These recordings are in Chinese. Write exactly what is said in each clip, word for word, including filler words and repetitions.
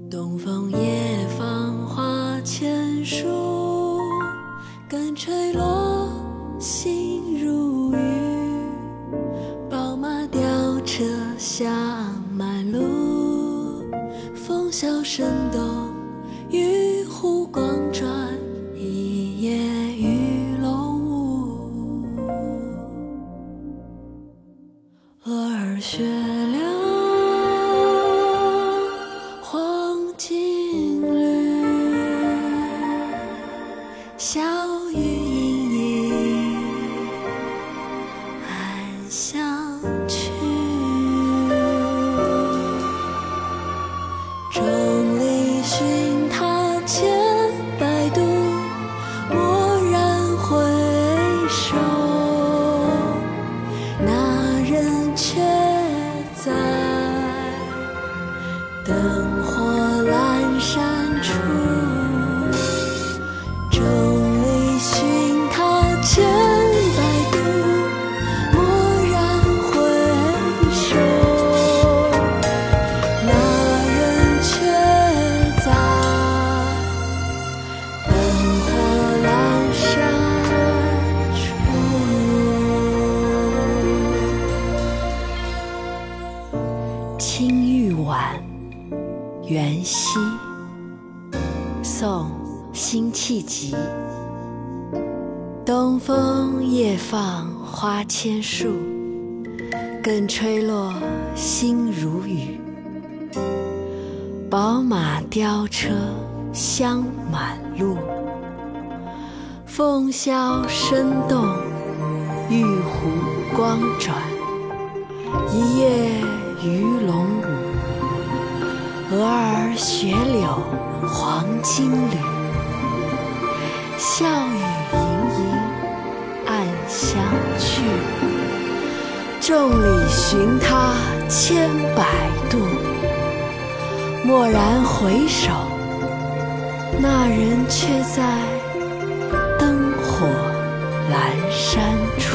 东风夜放花千树，更吹落，心如雨。宝马雕车香满路，风萧声动，玉壶光转，一夜鱼龙舞。蛾儿雪凉，黄金缕，小雨盈盈，暗香去。众里寻他千百度，蓦然回首，那人却在灯火阑珊处。众里寻他千百度，蓦然回首，那人却在灯火阑珊处。青玉碗，元夕。宋·辛弃疾。东风夜放花千树，更吹落，心如雨。宝马雕车香满路，凤箫声动，玉壶光转，一夜鱼龙舞。蛾儿雪柳黄金缕，笑语盈盈，暗香去。众里寻他千百度，蓦然回首，那人却在灯火阑珊处。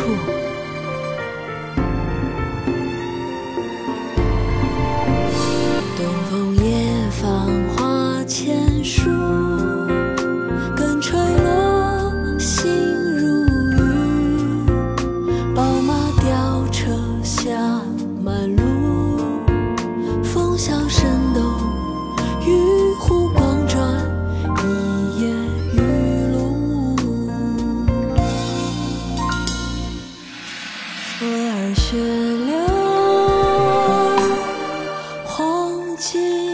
东风夜放花千树，更吹落，心如雨。宝马雕车香满路，风萧声动，玉壶光转，一夜鱼龙舞。蛾儿雪凉，黄金